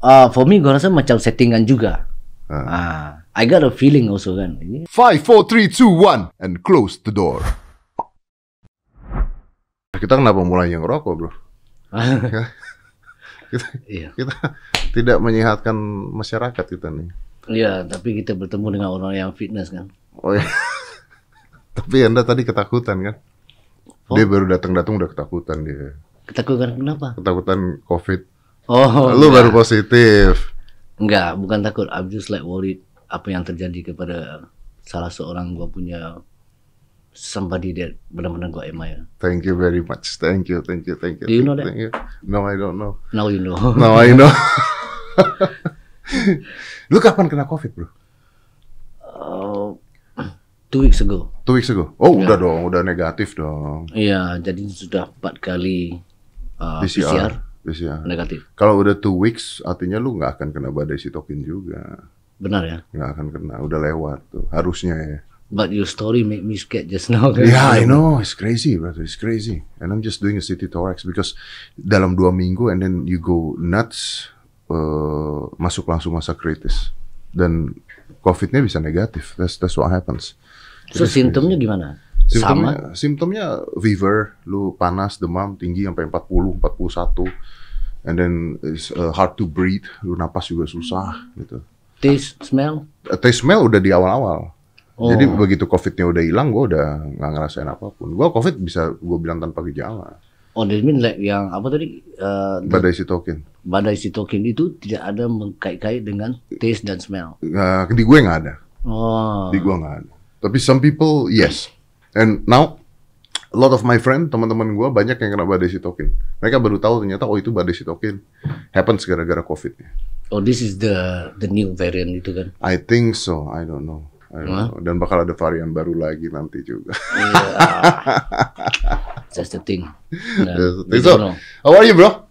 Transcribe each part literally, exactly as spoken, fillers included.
Uh, for me, gua rasa macam settingan juga. Uh. Uh, I got a feeling also kan. Five, four, three, two, one, and close the door. Kita kenapa mulai yang ngerokok, bro? kita, iya. kita tidak menyehatkan masyarakat kita nih. Iya, tapi kita bertemu dengan orang yang fitness kan. Oh iya. Tapi Anda tadi ketakutan kan? Oh. Dia baru datang-datang udah ketakutan dia. Ketakutan kenapa? Ketakutan COVID. Oh, lu enggak. baru positif. Enggak, bukan takut. I'm just like worried apa yang terjadi kepada salah seorang gua punya somebody that benar-benar gua admire. Thank you very much. Thank you, thank you, thank you. Do you know that? You. No, I don't know. Now you know. Now I know. Lu kapan kena COVID, bro? Uh, two weeks ago. Two weeks ago. Oh, ya. Udah dong, udah negatif dong. Iya, jadi sudah empat kali uh, P C R. P C R. P C R. Negatif. Kalau udah two weeks, artinya lu nggak akan kena badai sitokin juga. Benar ya? Nggak akan kena, udah lewat tuh. Harusnya ya. But your story make me scared just now. Yeah, I know. It's crazy, brother. It's crazy. And I'm just doing a city thorax because dalam dua minggu and then you go nuts, uh, masuk langsung masa kritis. Dan COVID-nya bisa negatif. That's that's what happens. So simptomnya gimana? Simptomnya, Sama? simptomnya fever, lu panas, demam, tinggi sampai empat puluh, empat puluh satu. And then it's uh, hard to breathe, lu napas juga susah gitu. Taste, smell? Uh, taste smell udah di awal-awal. Oh. Jadi begitu COVID-nya udah hilang, gue udah nggak ngerasain apapun. Gue COVID bisa gue bilang tanpa gejala. Oh, that mean like yang apa tadi? Uh, Badai sitokin. Badai sitokin itu tidak ada mengkait-kait dengan taste dan smell. Uh, di gue nggak ada. Oh. Di gue nggak ada. Tapi some people yes. And now a lot of my friend, teman-teman gue banyak yang kena badai sitokin. Mereka baru tahu ternyata oh itu badai sitokin happens gara-gara COVID-nya. Oh, this is the the new variant itu kan? I think so. I don't know. I don't huh? know. Dan bakal ada varian baru lagi nanti juga. Yeah. That's the thing. Nah, That's the we thing. So, don't know. how are you, bro?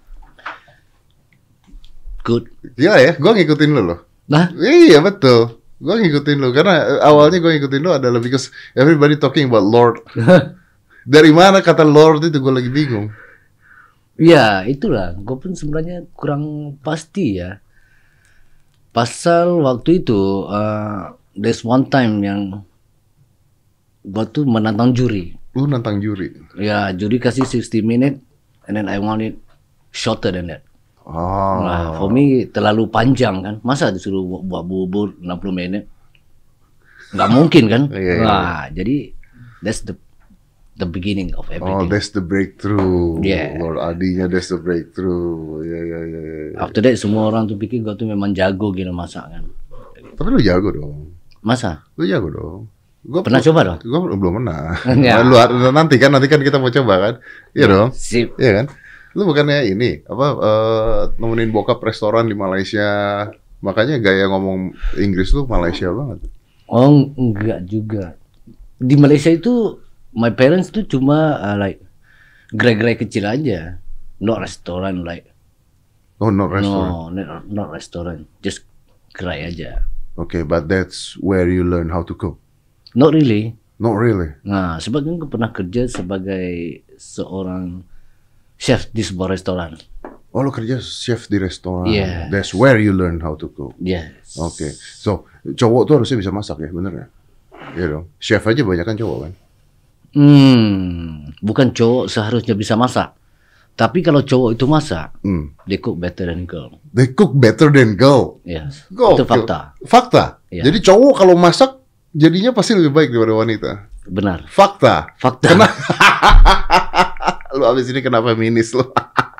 Good. Gila ya, gue ngikutin lu loh. Nah? Iya betul. Gue ngikutin lu karena awalnya gue ngikutin lu adalah because everybody talking about Lord. Dari mana kata Lord itu gue lagi bingung. Ya itulah, gue pun sebenarnya kurang pasti ya. Pasal waktu itu, uh, there's one time yang gue tuh menantang juri. Lu nantang juri? Ya, juri kasih sixty minute, and then I want it shorter than that. Oh. Nah, for me terlalu panjang kan. Masa disuruh buat bubur enam puluh menit? Nggak mungkin kan? Iya, iya. Nah, jadi that's the the beginning of Oh, everything. that's the breakthrough. Yeah. Lord Adinya that's the breakthrough. Ya, ya, ya, ya. After that semua orang tuh pikir gue tuh memang jago gitu masak kan. Tapi lu jago dong. Masa? Lu jago dong. Gua Pernah coba dong? Gua belum pernah. Ya. Lu nanti kan nanti kan kita mau coba kan? Iya dong. Sip. Iya kan? Lu bukannya ini apa uh, nemenin bokap restoran di Malaysia. Makanya gaya ngomong Inggris lu Malaysia banget. Oh, enggak juga. Di Malaysia itu my parents tuh cuma uh, like gerai-gerai kecil aja. Not restoran like. Oh, not restaurant. No, not, not restoran. Just gerai aja. Okay, but that's where you learn how to cook. Not really. Not really. Nah, sebab kan aku pernah kerja sebagai seorang chef di sebuah restoran. Oh, lu kerja chef di restoran. Yes. That's where you learn how to cook. Yes. Oke. Okay. So, cowok tuh harusnya bisa masak ya, bener ya? Iya dong. Chef aja banyak kan cowok kan? Hmm, bukan cowok seharusnya bisa masak. Tapi kalau cowok itu masak, Hmm. they cook better than girl. They cook better than girl. Yes. Go. Itu fakta. Fakta. Iya. Jadi cowok kalau masak jadinya pasti lebih baik daripada wanita. Benar. Fakta. Fakta. Kenapa? Lu abis ini kenapa feminis lu?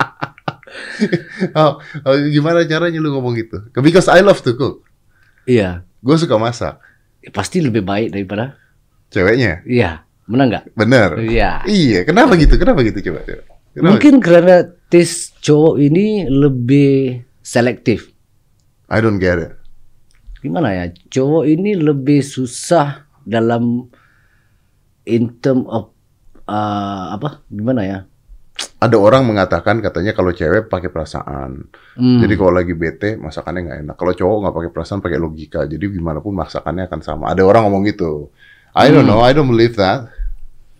oh, oh, gimana caranya lu ngomong gitu? Because I love to cook. Iya. Gue suka masak. Pasti lebih baik daripada Ceweknya? iya. Benar nggak? Bener. Iya. Iya. Kenapa gitu? Kenapa gitu coba? Kenapa? Mungkin karena taste cowok ini lebih selektif. I don't get it. Gimana ya? Cowok ini lebih susah dalam in term of uh, apa? Gimana ya? Ada orang mengatakan katanya kalau cewek pakai perasaan. Hmm. Jadi kalau lagi bete masakannya nggak enak. Kalau cowok nggak pakai perasaan, pakai logika. Jadi gimana pun masakannya akan sama. Ada orang ngomong gitu. I don't Hmm. know. I don't believe that.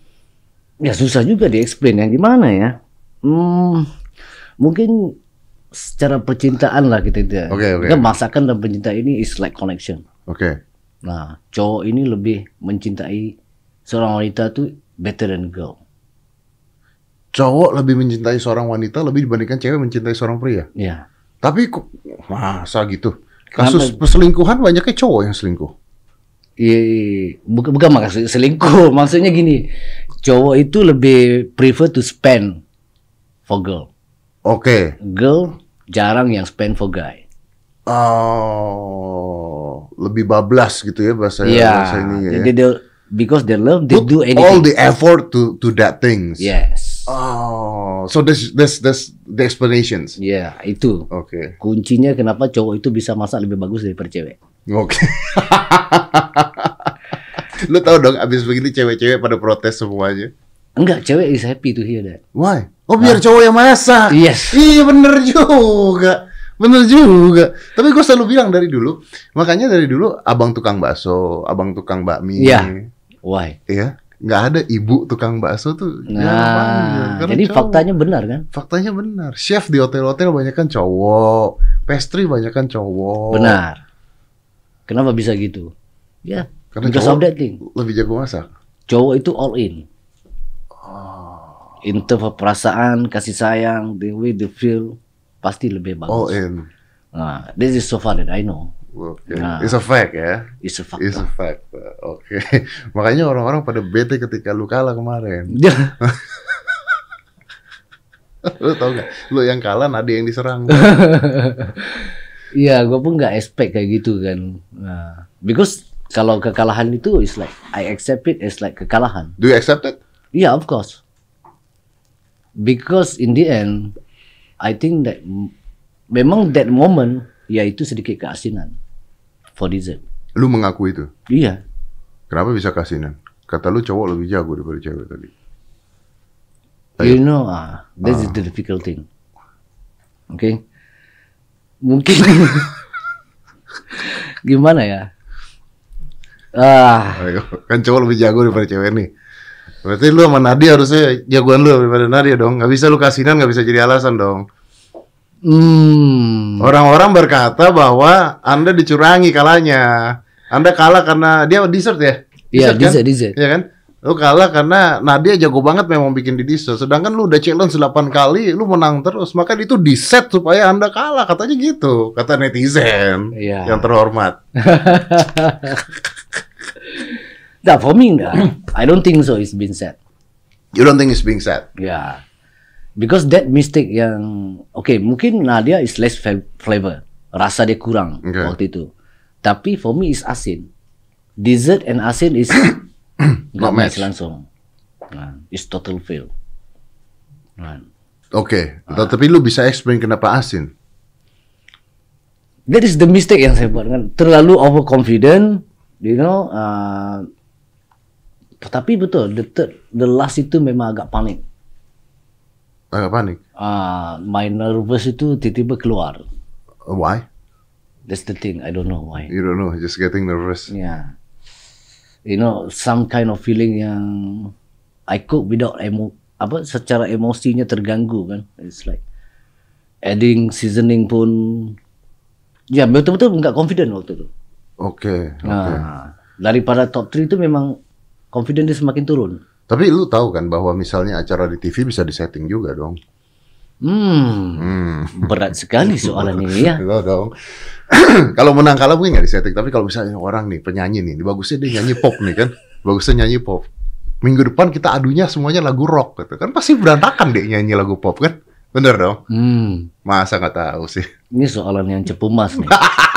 Ya susah juga di-explain yang gimana ya. Hmm, mungkin secara percintaan lah kita itu. Oke, oke. Kan masakan dan percintaan ini is like connection. Oke. Nah, cowok ini lebih mencintai seorang wanita tuh better than girl. Cowok lebih mencintai seorang wanita lebih dibandingkan cewek mencintai seorang pria. Ya. Tapi kok masa gitu? Kasus perselingkuhan banyaknya cowok yang selingkuh. Iya, bukan bukan maksud selingkuh, maksudnya gini, cowok itu lebih prefer to spend for girl. Oke. Girl jarang yang spend for guy. Oh, lebih bablas gitu ya bahasa Iya. bahasa ini ya. They, they, because they love, they Put do anything. all the effort to to that things. Yes. Oh, so this this this the explanations. Ya, itu. Oke. Kuncinya kenapa cowok itu bisa masak lebih bagus daripada cewek. Oke. Lu tahu dong abis begini cewek-cewek pada protes semuanya. Enggak, cewek is happy to hear that. Why? Oh biar cowok yang masak. Yes. Iya bener juga. Bener juga. Tapi gue selalu bilang dari dulu. Makanya dari dulu abang tukang bakso, abang tukang bakmi. Iya. Why? Iya. Nggak ada ibu tukang bakso tuh. Nah, jarang, jadi cowok. faktanya benar kan? Faktanya benar. Chef di hotel-hotel banyak kan cowok. Pastry banyak kan cowok. Benar. Kenapa bisa gitu? Ya, Karena because cowok of that thing. lebih jago masak. Cowok itu all in. In terms of perasaan, kasih sayang, the way they feel, pasti lebih bagus. All in. Nah, this is so far that I know. Oke. Nah. It's a fact ya. It's a fact. It's a fact. Oke. Makanya orang-orang pada bete ketika lu kalah kemarin. Lu tau gak? Lu yang kalah, Nadia yang diserang. Iya, gue pun nggak expect kayak gitu kan. Nah, because kalau kekalahan itu is like I accept it as like kekalahan. Do you accept it? Yeah, of course. Because in the end, I think that m- memang that moment, ya itu sedikit keasinan for dessert. Lu mengaku itu. Iya. Kenapa bisa kasinan? Kata lu cowok lebih jago daripada cewek tadi. You know, ah, this is the difficult thing. Oke. Okay? Mungkin gimana ya? Ah, Ayo, kan cowok lebih jago daripada cewek nih. Berarti lu sama Nadia harusnya jagoan lu daripada Nadia dong. Gak bisa lu kasinan, gak bisa jadi alasan dong. hmm, Orang-orang berkata bahwa Anda dicurangi kalahnya. Anda kalah karena dia dessert ya? Iya, kan? dessert, dessert. Iya kan? Lu kalah karena Nadia jago banget memang bikin di dessert. Sedangkan lu udah challenge delapan kali, lu menang terus. Maka itu di set supaya Anda kalah. Katanya gitu. Kata netizen Iya. yang terhormat. Nah, for me enggak. I don't think so it's been said. You don't think it's being said? Yeah. Because that mistake yang okay, mungkin Nadia is less fa- flavor. Rasa dia kurang Okay. waktu itu. Tapi for me is asin. Dessert and asin is Not nggak match match. langsung. Nah, it's total fail. Nah. Oke, okay. Tapi lu bisa explain kenapa asin? That is the mistake yang saya buat kan. Terlalu overconfident, you know. Uh, tapi betul, the third, the last itu memang agak panik. Agak panik. Uh, my nervous itu tiba-tiba keluar. Uh, Why? That's the thing. I don't know why. You don't know, just getting nervous. Yeah. You know, some kind of feeling yang I cook without emo, apa secara emosinya terganggu kan. It's like adding seasoning pun, ya betul-betul nggak confident waktu itu. Oke, okay, oke. Nah, Okay. daripada top tiga itu memang confident dia semakin turun. Tapi lu tahu kan bahwa misalnya acara di T V bisa disetting juga dong. Hmm, Hmm. berat sekali soalan ini ya. Lo dong. Kalau menang kalah mungkin nggak disetting, tapi kalau misalnya orang nih penyanyi nih, bagusnya dia nyanyi pop nih kan, bagusnya nyanyi pop. Minggu depan kita adunya semuanya lagu rock gitu kan, pasti berantakan deh nyanyi lagu pop kan, bener dong? Hmm, Masa nggak tahu sih? ini soalan yang cepu mas nih.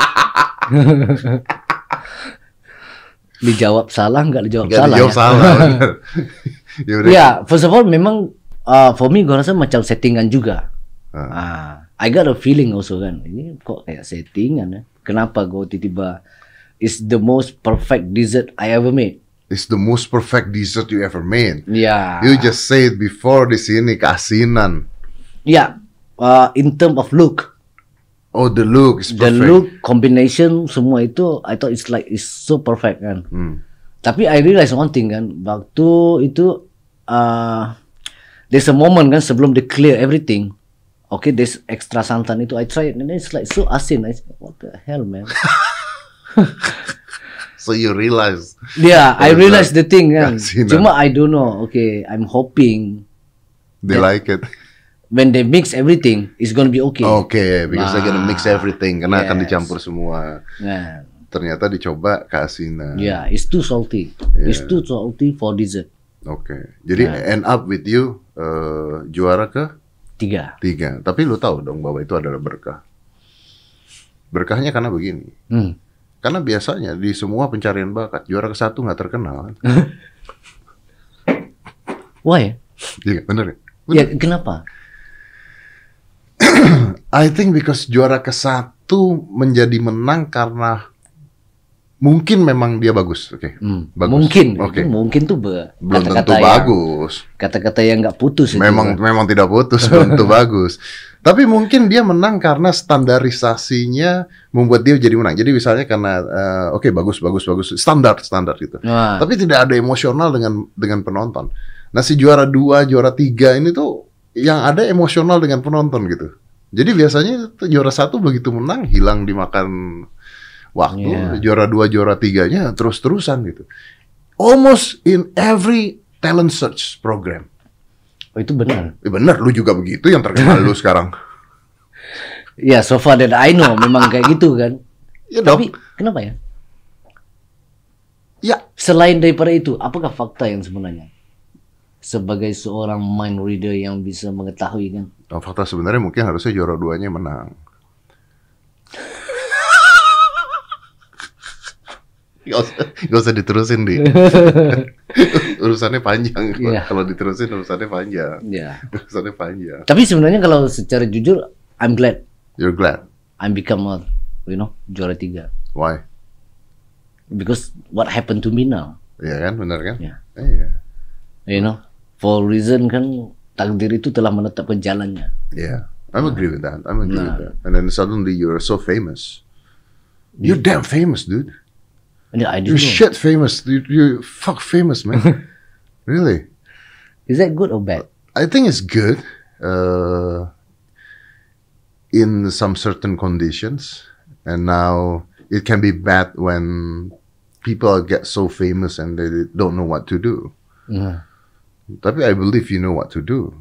Dijawab salah nggak dijawab Nggak salah dijawab ya? salah. Bener. Ya udah. Ya, first of all memang uh, for me gue rasa macam settingan juga. Ah. Ah, I got a feeling also kan, ini kok kayak settingan ya. Kenapa gue tiba-tiba is the most perfect dessert I ever made. It's the most perfect dessert you ever made. Ya, You just said before di sini keasinan. ya, uh, in term of look, Oh, the look is the perfect. look combination semua itu, I thought it's like it's so perfect kan. Hmm. Tapi I realize one thing kan, waktu itu uh, there's a moment kan sebelum they clear everything, okay, this extra santan itu I tried and it's like so asin. I said, what the hell, man? So you realize? Yeah, I realized the thing kan. Asinan. Cuma I don't know. Okay, I'm hoping They like it. when they mix everything, it's gonna be okay. Okay, because they're gonna mix everything karena akan yes. dicampur semua. Nah, Ternyata dicoba keasinan. yeah, it's too salty. Yeah. It's too salty for dessert. Oke, jadi Nah. end up with you uh, juara ke Tiga. tiga. Tapi lu tahu dong bahwa itu adalah berkah. Berkahnya karena begini. Hmm. Karena biasanya di semua pencarian bakat juara ke satu nggak terkenal. Why? Iya, bener ya? Ya, kenapa? I think because juara ke satu menjadi menang karena mungkin memang dia bagus, oke? Hmm. Bagus. Mungkin, Oke. itu mungkin tuh be- Belum kata-kata tentu yang- bagus. Kata-kata yang nggak putus itu. Memang kan. memang tidak putus, belum tentu bagus. Tapi mungkin dia menang karena standarisasinya membuat dia jadi menang. Jadi misalnya karena eh, oke bagus bagus bagus standar standar gitu. Wah. Tapi tidak ada emosional dengan dengan penonton. Nah si juara dua, juara tiga ini tuh yang ada emosional dengan penonton gitu. Jadi biasanya tuh juara satu begitu menang hilang dimakan waktu. Yeah. Juara dua, juara tiganya terus-terusan gitu. Almost in every talent search program. Oh, itu benar. Eh, bener, lu juga begitu yang terkenal lu sekarang. Ya, so far that I know memang kayak gitu kan. Ya dong. Tapi kenapa ya? Ya, Selain daripada itu, apakah fakta yang sebenarnya? Sebagai seorang mind reader yang bisa mengetahui kan. oh, fakta sebenarnya mungkin harusnya juara duanya menang. Gak usah, gak usah diterusin di. Urusannya panjang. Iya. Kalau diterusin urusannya panjang. Ya. Urusannya panjang. Tapi sebenarnya kalau secara jujur, I'm glad You're glad. I'm become a, you know, juara tiga. Why? Because what happened to me now, Iya kan, benar kan? Ya. Iya. you know, for reason kan takdir itu telah menetapkan jalannya. Yeah, I'm agree with that. I'm agree Nah. with that. And then suddenly you're so famous. You're damn famous, dude. And I You're didn't know. shit famous. You, you're fuck famous, man. Really. Is that good or bad? I think it's good uh, in some certain conditions, and now it can be bad when people get so famous and they don't know what to do. Nah, Tapi I believe you know what to do.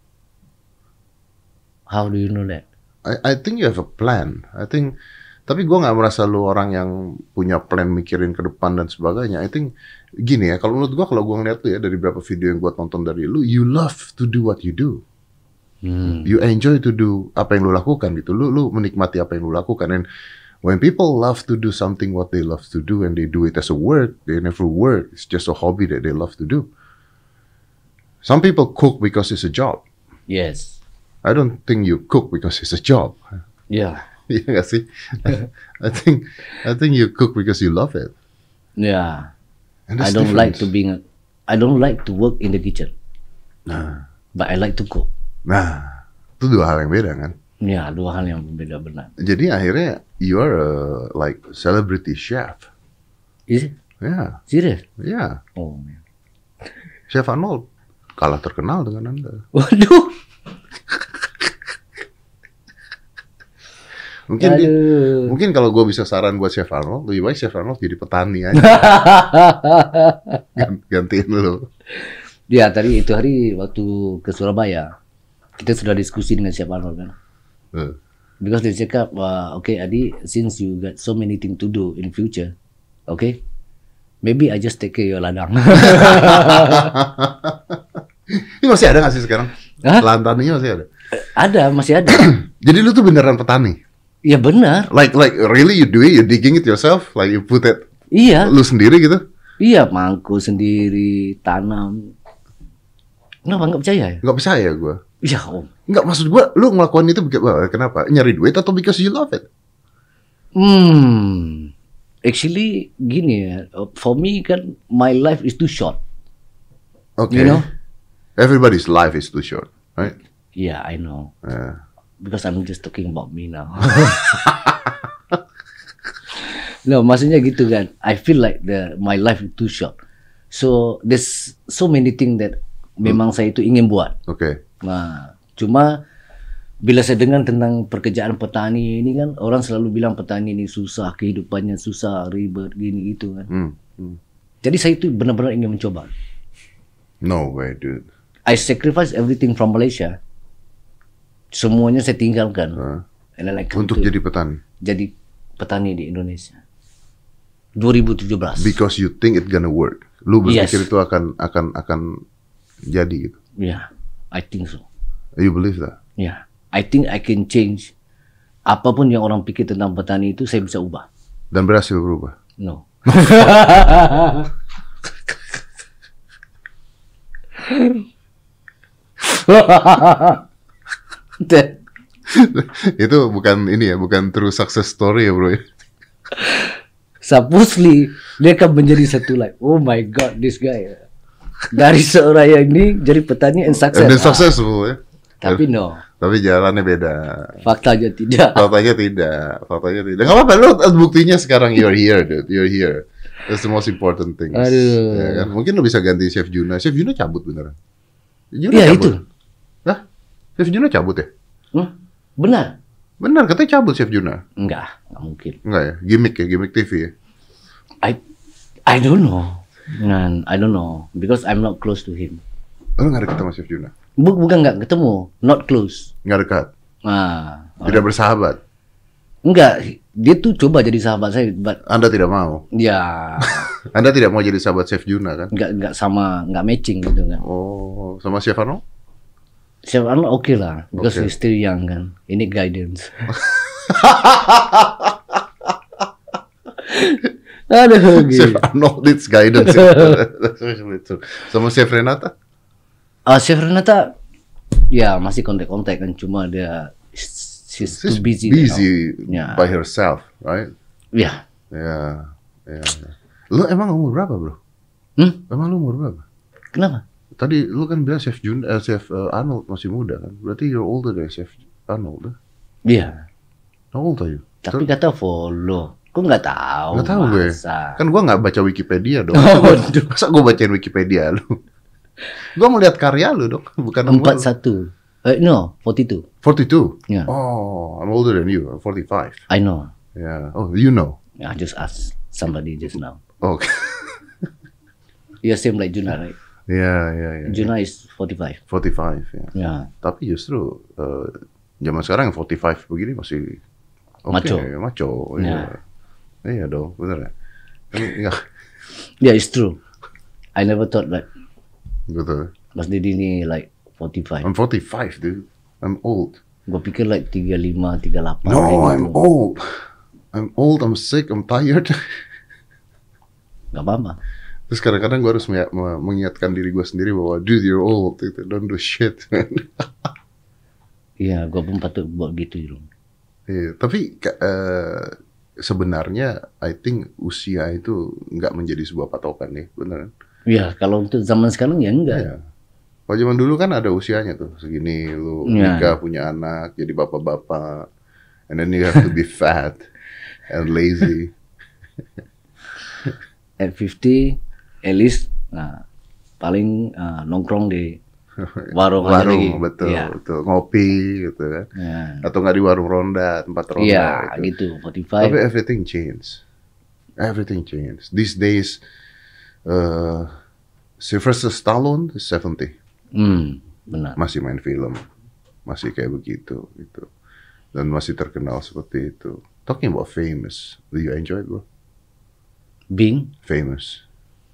how do you know that? I, I think you have a plan. I think, tapi gue nggak merasa lu orang yang punya plan mikirin ke depan dan sebagainya. I think gini ya, kalau menurut gue, kalau gue ngeliat tuh ya dari beberapa video yang gue tonton dari lu, you love to do what you do. Hmm. You enjoy to do apa yang lu lakukan gitu. Lu lu menikmati apa yang lu lakukan. And when people love to do something what they love to do and they do it as a work, they never work. It's just a hobby that they love to do. Some people cook because it's a job. Yes. I don't think you cook because it's a job. Yeah. Iya nggak sih? I think I think you cook because you love it. Yeah. And I that's don't like to different. being. I don't like to work in the kitchen, Nah, but I like to cook. nah, itu dua hal yang beda kan. Ya, dua hal yang berbeda benar. Jadi akhirnya you are a like celebrity chef. Is it? Ya, Serious? ya. Oh man. Chef Arnold kalah terkenal dengan Anda. Waduh. Mungkin dia- Aduh. mungkin kalau gue bisa saran buat Chef Arnold, lebih baik Chef Arnold jadi petani aja. Gan- Gantiin lu. Ya, tadi itu hari waktu ke Surabaya, kita sudah diskusi dengan Chef Arnold kan. Eh, Because dia cakap, uh, okay Adi, since you got so many things to do in future, okay, maybe I just take care your ladang. Ini masih ada nggak sih sekarang? Hah? Lahan taninya masih ada. Ada, masih ada. Jadi lu tuh beneran petani? Ya benar. Like like really you do it, you digging it yourself, like you put it Iya, lu sendiri gitu? iya mangku sendiri, tanam. Kenapa nggak percaya ya? Nggak percaya gue. Iya om. Nggak, maksud gue, lu ngelakuin itu begitu, kenapa? Nyari duit atau because you love it? Hmm. Actually gini ya, for me kan my life is too short. Okay. You know? Everybody's life is too short, right? Yeah, I know. Yeah. Because I'm just talking about me now. No, maksudnya gitu kan. I feel like the my life is too short. So there's so many things that memang saya itu ingin buat. Oke. Nah, cuma bila saya dengar tentang pekerjaan petani ini kan, orang selalu bilang petani ini susah, kehidupannya susah, ribet, gini gitu kan. Hmm. Hmm. Jadi saya itu benar-benar ingin mencoba. No way, dude. I sacrifice everything from Malaysia. Semuanya saya tinggalkan. Huh? And then I come Untuk to- jadi petani. jadi petani di Indonesia. dua ribu tujuh belas. Because you think it gonna work. Lu Yes. berpikir itu akan akan akan jadi gitu. Yeah, I think so. You believe that? Yeah, I think I can change. Apapun yang orang pikir tentang petani itu saya bisa ubah. Dan berhasil berubah. No. Itu bukan ini ya, bukan true success story ya, bro. Supposedly dia akan menjadi satu like, oh my god, this guy dari seorang yang ini jadi petani and success. And then Ah, successful ya. tapi no, Tapi jalannya beda. faktanya tidak. Faktanya tidak. Faktanya tidak. Gak apa-apa, lu buktinya sekarang you're here, dude. You're here. That's the most important thing. Aduh. Ya kan? Mungkin lu bisa ganti Chef Juna. Chef Juna cabut beneran. Juna Iya, cabut. itu. Hah? Chef Juna cabut ya? Hmm? Benar? Benar, katanya cabut Chef Juna. Enggak, enggak mungkin. Enggak ya? Gimmick ya, gimmick T V ya. I I don't know. Man, I don't know because I'm not close to him. Lu gak dekat sama Chef Juna? Bu- bukan nggak ketemu, not close. Gak dekat? Ah, Tidak bersahabat? enggak, dia tuh coba jadi sahabat saya, but Anda tidak mau? ya Anda tidak mau jadi sahabat Chef Juna kan? nggak nggak sama, nggak matching gitu kan. Oh, sama Chef Arno? Chef Arnold oke lah, because Okay. he's still young kan. Ini guidance. Aduh, Chef gitu. Arno needs guidance. Sama Chef Renata? Ah, Chef Renata, ya masih kontak-kontak kan, cuma dia she's too She's busy. busy Yeah. by herself, right? Ya, Ya, ya. Lu emang umur berapa, bro? hmm? Emang lu umur berapa? Kenapa? Tadi lu kan bilang Chef Jun, eh, Chef eh, Arnold masih muda kan? Berarti you're older than Chef Arnold. Eh? Iya. How old are you? Tapi kata follow. Kok nggak tahu? Nggak tahu gue. masa? Kan gua nggak baca Wikipedia dong. Oh, Masa aduh. Masa gua bacain Wikipedia lu? Gua melihat karya lu dong, bukan Empat umur. satu. Eh, no, forty two. forty-two. Yeah. Oh, I'm older than you. I'm forty-five. I know. Yeah. Oh, you know. I just asked somebody just now. Okay. Yeah, same like Juna, right? Ya, ya, ya. Juna is forty five. forty-five ya. Yeah. Tapi justru eh, zaman sekarang yang forty-five begini masih oke, Macho. macho. Ya. Iya. Iya dong, bener ya. Kan, ya, Yeah, it's true. I never thought that betul. Mas Didi ni like forty five. I'm forty-five, dude. I'm old. Gue pikir like tiga lima, tiga delapan. No, kayak I'm gitu. old. I'm old, I'm sick, I'm tired. Gak apa-apa. Terus kadang-kadang gue harus menya- me- mengingatkan diri gue sendiri bahwa dude, you're old. Gitu. Don't do shit, man. Iya, gue pun patut buat gitu. Dong. Iya, tapi ka- eh, sebenarnya I think usia itu nggak menjadi sebuah patokan nih, bener kan? Iya, kalau untuk zaman sekarang ya enggak. Iya. Kalau zaman dulu kan ada usianya tuh, segini lu Iya. nikah, punya anak, jadi bapak-bapak, and then you have to be fat and lazy. At fifty, at least, nah, paling uh, nongkrong di warung aja lagi. Warung, betul, Iya. betul, ngopi gitu kan, Ya. atau nggak di warung ronda, tempat ronda. Iya, gitu. gitu. forty five. Tapi everything changed, everything changed. These days, uh, Sylvester Stallone is seventy. Hmm, benar. Masih main film, masih kayak begitu gitu, dan masih terkenal seperti itu. Talking about famous, do you enjoy it, bro? Bing. Famous.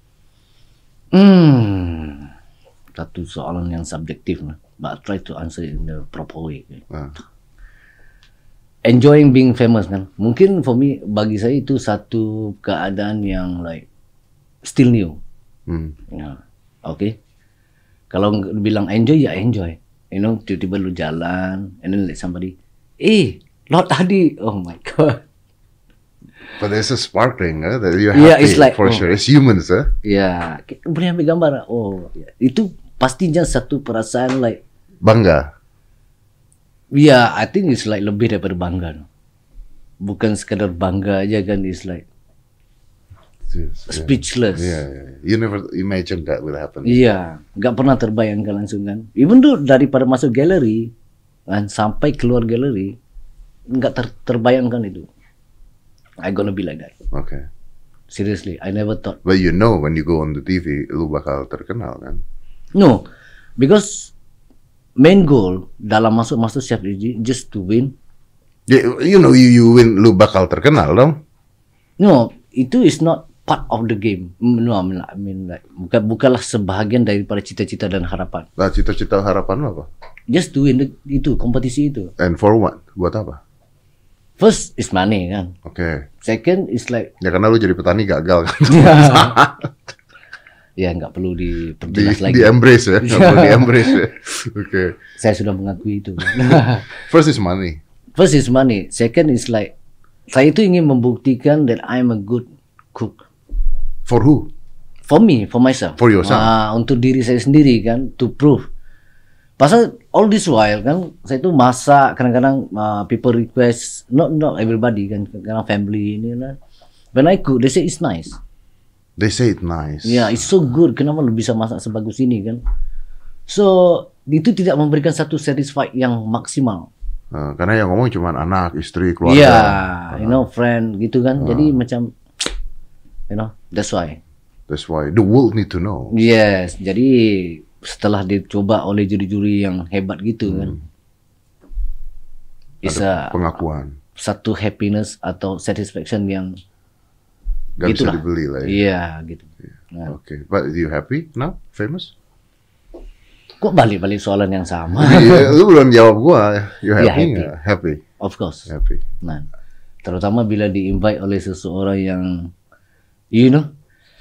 Hmm. Satu soalan yang subjektif lah. But I try to answer it in the proper way. Ah. Enjoying being famous kan. Mungkin for me, bagi saya itu satu keadaan yang like still new. Hmm. Ya, oke. Kalau ng- bilang enjoy ya enjoy. You know, tiba-tiba lu jalan, and then like somebody, eh, Lord Adi, oh my god. But there's a sparkling, huh? That you're Yeah, happy it's like, for oh. sure. It's humans, huh? Ya, k- boleh ambil gambar? Oh, ya. Itu pastinya satu perasaan like, Bangga. ya, I think it's like lebih daripada bangga. No? Bukan sekadar bangga aja kan, it's like Yes, yeah. speechless. Yeah, yeah. You never imagined that would happen. Iya, nggak pernah terbayangkan langsung kan. Even tuh daripada masuk galeri, dan sampai keluar galeri nggak ter terbayangkan itu. I gonna be like that. Okay. Seriously, I never thought. But you know when you go on the T V, lu bakal terkenal kan? No, because main goal dalam masuk masuk Chef Iji just to win. Yeah, you know you you win, lu bakal terkenal dong. No, itu is not part of the game. No, I mean, I mean like, bukan bukanlah sebahagian daripada cita-cita dan harapan. Nah, cita-cita harapan lu apa? Just to win the, itu kompetisi itu. And for what? Buat apa? First is money kan. Oke. Okay. Second is like. Ya karena lu jadi petani gagal kan. Ya nggak perlu di, diperjelas lagi. Di embrace ya, nggak perlu di embrace ya. Oke. Okay. Saya sudah mengakui itu. First is money. First is money. Second is like saya itu ingin membuktikan that I'm a good cook. For who? For me, for myself. For yourself. Uh, untuk diri saya sendiri kan, to prove. Pasal all this while kan saya itu masak kadang-kadang uh, people request, not not everybody kan, kadang family ini lah. When I cook, they say it's nice. They say it's nice. Yeah, it's so good. Kenapa lu bisa masak sebagus ini kan? So itu tidak memberikan satu satisfied yang maksimal. Uh, karena yang ngomong cuma anak, istri, keluarga. Iya, yeah, you know, friend gitu kan. Uh. Jadi macam, you know, that's why. That's why the world need to know. Yes, jadi setelah dicoba oleh juri-juri yang hebat gitu hmm. kan, bisa pengakuan, satu happiness atau satisfaction yang gak gitu bisa lah. Dibeli lah ya. Iya gitu. Yeah. Nah. Oke, okay. But you happy now, famous? Kok balik-balik soalan yang sama? Yeah, lu belum jawab gua. You happy? Yeah, happy. Gak? Happy. Of course. Happy. Nah, terutama bila di-invite oleh seseorang yang, you know,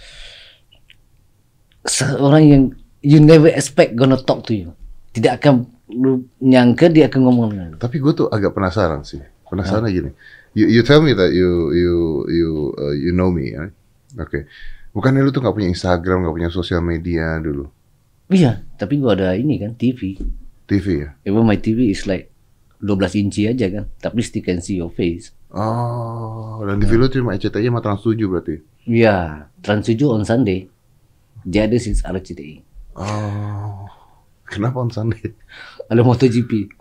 seorang yang you never expect gonna talk to you. Tidak akan lu nyangka dia akan ngomong dengan lu. Tapi gue tuh agak penasaran sih. Penasaran huh? gini. You you tell me that you you you uh, you know me, right? Oke. Okay. Bukannya lu tuh nggak punya Instagram, nggak punya sosial media dulu? Iya, tapi gua ada ini kan T V. T V ya? Even my T V is like dua belas inci aja kan, tapi still can see your face. Oh, dan T V lu cuma R C T I sama Trans tujuh berarti? Iya, Trans tujuh on Sunday. Dia ada since R C T I. Oh, kenapa on Sunday? Ada MotoGP.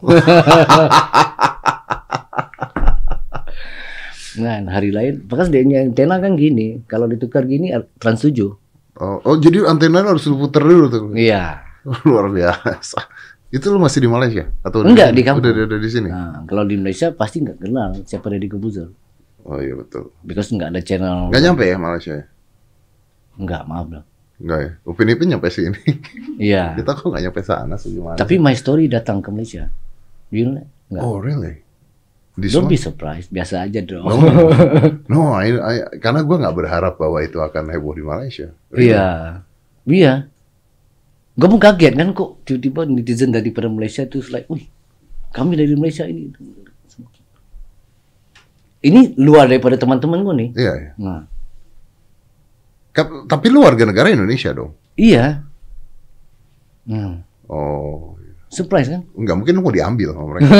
Nah, hari lain, bahkan dia antena kan gini, kalau ditukar gini Trans tujuh. Oh, oh jadi antena harus lu puter dulu tuh? Iya. Luar biasa. Itu lu masih di Malaysia atau enggak di, di kampung? Udah, udah di sini. Nah, kalau di Malaysia pasti nggak kenal siapa Deddy Corbuzier. Oh iya betul. Because nggak ada channel. Nggak nyampe ya Malaysia? Enggak, maaf lah. Enggak ya. Upin Ipin nyampe sini. Iya. Kita kok nggak nyampe sana sih gimana? Tapi My Story datang ke Malaysia. You know? Enggak. Oh really? This Don't one? be surprised, biasa aja dong. No, no I, I, karena gue nggak berharap bahwa itu akan heboh di Malaysia. Really? Iya, iya. Gue pun kaget kan kok tiba-tiba netizen daripada Malaysia itu like, wih, kami dari Malaysia ini. Ini luar daripada teman-teman gue nih. Iya. iya. Nah. Tapi lu warga negara Indonesia dong? Iya. Hmm. Oh. Surprise kan? Enggak, mungkin lu mau diambil sama mereka.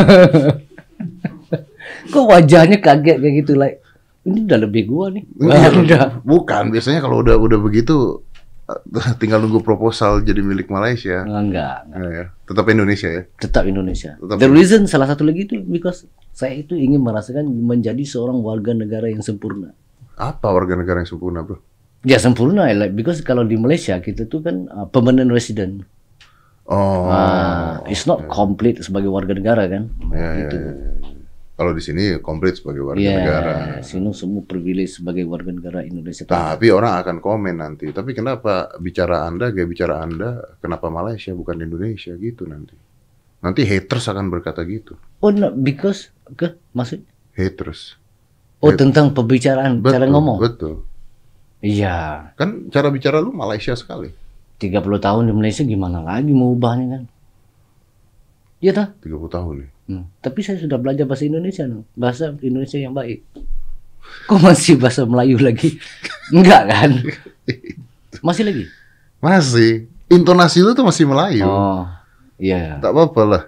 Kok wajahnya kaget kayak gitu, like ini udah lebih gua nih. Udah. Bukan, biasanya kalau udah udah begitu tinggal nunggu proposal jadi milik Malaysia. Enggak. enggak. Ya, tetap Indonesia ya. Tetap Indonesia. Tetap The reason salah satu lagi itu because saya itu ingin merasakan menjadi seorang warga negara yang sempurna. Apa warga negara yang sempurna, bro? Ya sempurna, like because kalau di Malaysia kita tuh kan uh, permanent resident. Oh. Uh, it's not ya. complete sebagai warga negara kan. Ya, gitu. ya, ya. Kalau di sini komplit sebagai warga yeah, negara. Sini semua privilege sebagai warga negara Indonesia. Tapi orang akan komen nanti. Tapi kenapa bicara Anda, gaya bicara Anda, kenapa Malaysia bukan Indonesia gitu nanti? Nanti haters akan berkata gitu. Oh, no, because ke maksud? Haters. Oh, Hat tentang pembicaraan, betul, cara ngomong. Betul. Iya. Kan cara bicara lu Malaysia sekali. tiga puluh tahun di Malaysia gimana lagi mau ubahnya kan? Iya tak? tiga puluh tahun nih. Hmm. Tapi saya sudah belajar bahasa Indonesia, no? Bahasa Indonesia yang baik. Kok masih bahasa Melayu lagi? Enggak kan? Masih lagi? Masih. Intonasi lu tuh masih Melayu. Oh, iya. Tak apa-apa lah.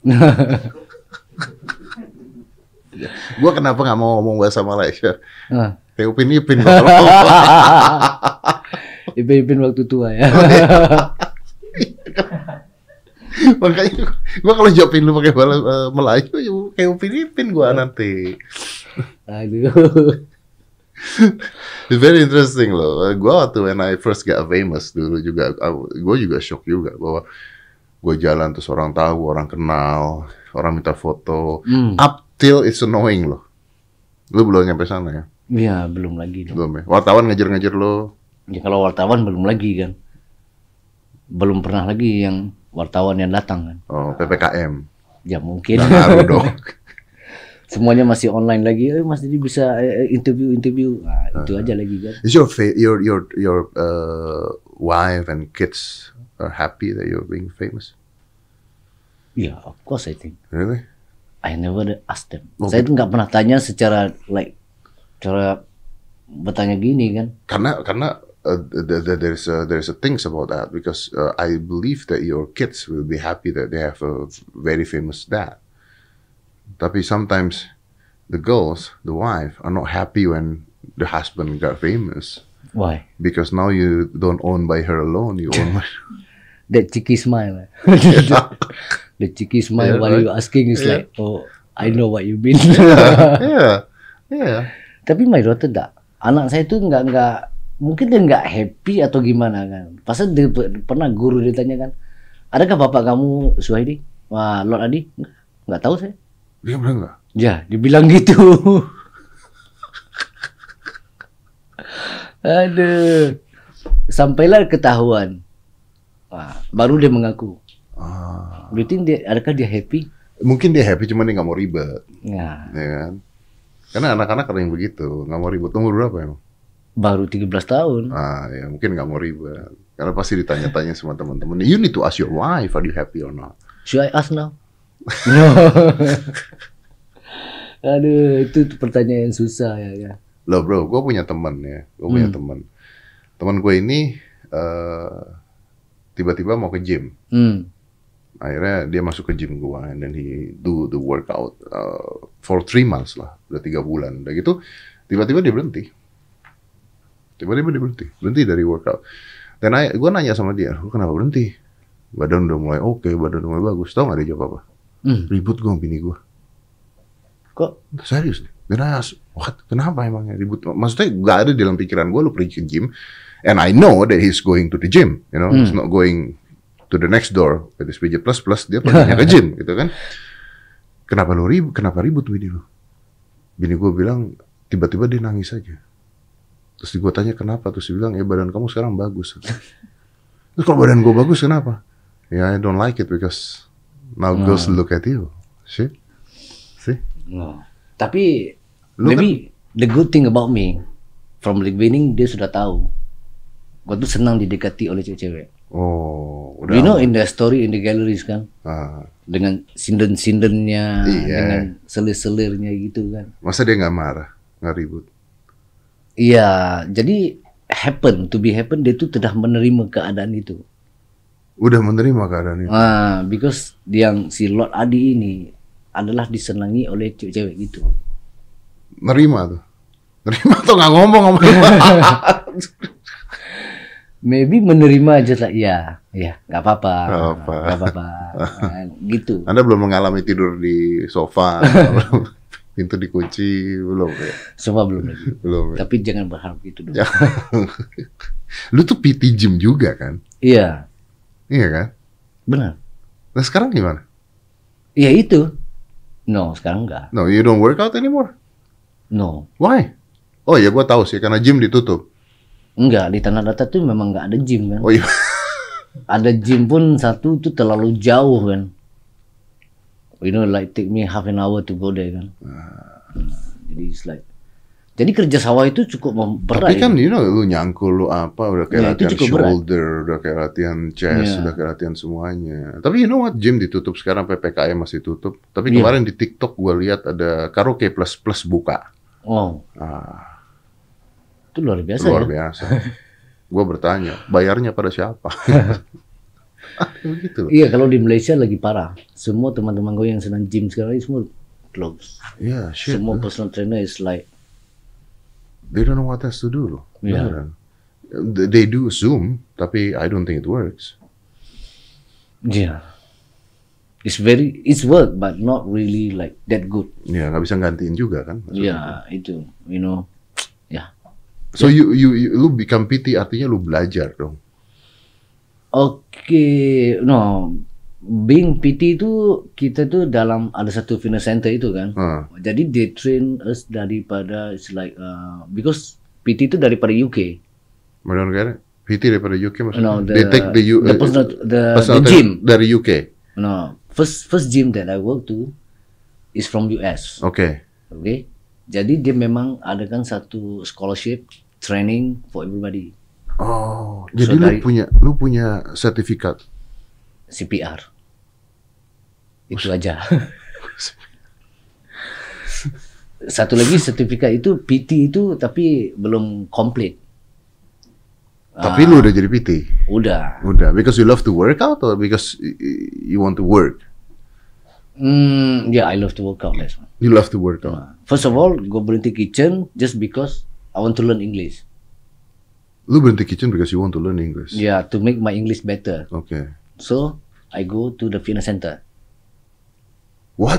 Gua kenapa nggak mau ngomong bahasa Malaysia? Uh. Kayak Upin-Ipin. Ipin-ipin waktu tua ya. Makanya gua kalau jawabin lu pakai bahasa uh, Melayu, ya kayak Filipin gua nanti. Aduh. It's very interesting loh. Gua waktu when I first got famous dulu juga, gua juga shock juga bahwa gua jalan terus orang tahu, orang kenal, orang minta foto. Hmm. Up till it's annoying loh. Lu belum nyampe sana ya? Iya, belum lagi. Dong. Belum ya? Wartawan ngejar-ngejar lo? Ya kalau wartawan belum lagi kan. Belum pernah lagi yang wartawan yang datang kan. Oh, P P K M. Ya mungkin. Nggak ngaruh dong. Semuanya masih online lagi. Eh, Mas Didi bisa interview-interview. Nah, uh, itu aja lagi kan. Is your fa- your your your uh, wife and kids are happy that you're being famous? Yeah, of course I think. Really? I never asked them. Oh, Saya tuh nggak pernah tanya secara like cara bertanya gini kan. Karena karena uh, th- th- there's a, there's a things about that because uh, I believe that your kids will be happy that they have a very famous dad. Tapi sometimes the girls, the wife, are not happy when the husband got famous. Why? Because now you don't own by her alone, you own by... That cheeky smile. The cheeky smile Yeah, while right. you asking is Yeah. like, oh, I know what you mean. yeah, yeah. Tapi my daughter tak. Anak saya tuh nggak nggak mungkin dia nggak happy atau gimana kan. Pasal dia pernah guru dia tanya kan, adakah bapak kamu Suhaidi? Wah, Lord Adi? Nggak, nggak tahu saya. Dia bilang enggak? Ya, dibilang gitu. Aduh. Sampailah ketahuan. Wah, baru dia mengaku. Ah. Do you think dia, adakah dia happy? Mungkin dia happy, cuman dia nggak mau ribet, Ya, ya kan? Karena anak-anak ada yang begitu, nggak mau ribet. Umur berapa emang? baru tiga belas tahun. Ah, ya mungkin nggak mau ribet. Karena pasti ditanya-tanya sama teman-teman. You need to ask your wife, are you happy or not? Should I ask now? No. Aduh, itu pertanyaan yang susah ya. ya. Loh bro, gue punya teman ya, gue punya Hmm. teman. Teman gue ini uh, tiba-tiba mau ke gym. Hmm. Akhirnya dia masuk ke gym gue, and then he do the workout uh, for three months lah, udah tiga bulan. Udah gitu, tiba-tiba dia berhenti. Tiba-tiba dia berhenti, berhenti dari workout. Dan gue nanya sama dia, lu kenapa berhenti? Badan udah mulai oke, okay, badan udah mulai bagus. Tau gak dia jawab apa? Hmm. Ribut gue sama bini gue. Kok? Serius nih? Dan I ask, what? Kenapa emangnya ribut? Maksudnya gak ada dalam pikiran gue lu pergi ke gym. And I know that he's going to the gym. You know, Hmm. he's not going to the next door with his P J plus plus. Dia perginya ke gym gitu kan. Kenapa lu ribut? Kenapa ribut bini lu? Bini gue bilang, tiba-tiba dia nangis aja. Terus gue tanya kenapa? Terus dia bilang, ya badan kamu sekarang bagus. Terus kalau badan gue bagus kenapa? Ya, I don't like it because now girls look at you. See? See? No. Tapi Lu maybe the good thing about me from the beginning dia sudah tahu. Gua tuh senang didekati oleh cewek-cewek. Oh, udah. You know in the story in the galleries kan, Ah, dengan sinden-sindennya, Iya. dengan selir-selirnya gitu kan. masa dia nggak marah, nggak ribut? Iya, jadi happen to be happen dia tuh sudah menerima keadaan itu. Udah menerima keadaan itu. Ah, because yang si Lord Adi ini adalah disenangi oleh cewek-cewek gitu. Nerima tuh. Nerima tuh nggak ngomong sama Maybe menerima aja lah, ya, ya, nggak apa-apa, Nggak apa. nggak apa-apa, Nah, gitu. Anda belum mengalami tidur di sofa, pintu dikunci, belum ya? Semua belum lagi. Belum ya? Tapi jangan berharap gitu dong. Ya. Lu tuh P T gym juga kan? Iya, Iya kan? benar. Nah sekarang gimana? Iya itu. No, sekarang enggak. No, you don't work out anymore? No, Why? Oh ya, gua tahu sih, karena gym ditutup. enggak. Di Tanah Datar tuh memang enggak ada gym kan. Oh iya. Ada gym pun satu tuh terlalu jauh kan. You know, like take me half an hour to go there kan. Nah, jadi it's like, jadi kerja sawah itu cukup mem- berat. Tapi kan ya. you know, lu nyangkul lu apa, udah kayak Ya, itu latihan cukup berat. shoulder, udah kayak latihan chest, Ya. udah kayak latihan semuanya. Tapi you know what, gym ditutup sekarang, P P K M masih tutup. Tapi Ya. kemarin di TikTok gua lihat ada karaoke plus plus buka. Oh, Ah, itu luar biasa luar ya. biasa. Gua bertanya, bayarnya pada siapa? Begitu loh. Iya, kalau di Malaysia lagi parah. Semua teman-teman gue yang senang gym sekarang ini semua close. Yeah, shit. Semua personal trainer is like, They don't know what else to do loh. Yeah. Beneran. They do Zoom, tapi I don't think it works. yeah. It's very, it's work, but not really like that good. Ya, nggak bisa gantiin juga kan? Ya, yeah, itu, you know, ya. Yeah. So you, you, you, lu become P T artinya lu belajar dong? Oke, okay, no, being P T itu kita tuh dalam ada satu fitness center itu kan. Hmm. Jadi they train us daripada, it's like, uh, because P T itu daripada U K. Mana negara? P T daripada U K maksudnya? No, the, they take the, U, the, personal, the, personal the gym dari U K. No, first first gym that I work to is from U S. Oke. Okay. Oke. Okay? Jadi dia memang adakan satu scholarship training for everybody. Oh, jadi so lu dari, punya lu punya sertifikat C P R. Itu aja. Satu lagi sertifikat itu P T itu tapi belum komplit. Tapi uh, lu udah jadi P T? Udah. Udah. Because you love to work out or because you want to work? Hmm, yeah, I love to work out. That's one. You love to work out. Uh, first of all, go berhenti kitchen just because I want to learn English. Lu berhenti kitchen because you want to learn English? Yeah, to make my English better. Okay. So I go to the fitness center. What?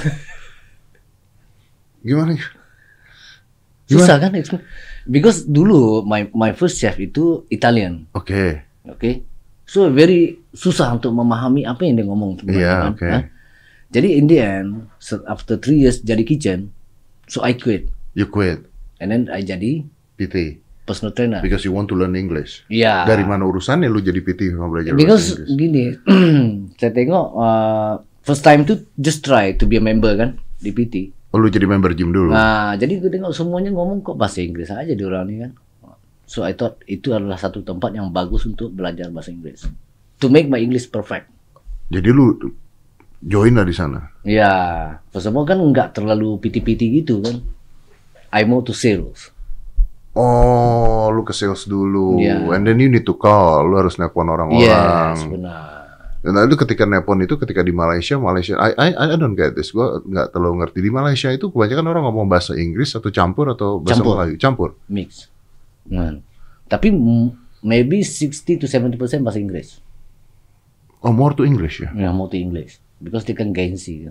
Gimana? Gimana? Susah kan? Because dulu my my first chef itu Italian. Oke. Okay. Oke. Okay? So very susah untuk memahami apa yang dia ngomong. Iya, yeah, oke. Okay. Jadi in the end, after three years jadi kitchen, so I quit. You quit. And then I jadi P T. Personal trainer. Because you want to learn English. Iya. Yeah. Dari mana urusannya lu jadi P T mau belajar Because bahasa Inggris? Gini, saya tengok uh, first time tuh just try to be a member kan di P T. Oh, lu jadi member gym dulu? Nah, jadi gue tengok semuanya ngomong kok bahasa Inggris aja di orang ini kan. So I thought itu adalah satu tempat yang bagus untuk belajar bahasa Inggris. To make my English perfect. Jadi lu join lah di sana? Ya, first of all kan nggak terlalu P T-P T gitu kan. I mau to sales. Oh, lu ke sales dulu. Yeah. And then you need to call. Lu harus nelpon orang-orang. Yes, benar. Dan itu ketika nelpon itu ketika di Malaysia, Malaysia, I I I don't get this. Gua nggak terlalu ngerti di Malaysia itu kebanyakan orang ngomong bahasa Inggris atau campur atau bahasa campur. Melayu, campur. Mix. Nah, tapi maybe sixty to seventy percent bahasa Inggris. Oh, more to English ya? Ya, more to English. Because dia kan gengsi.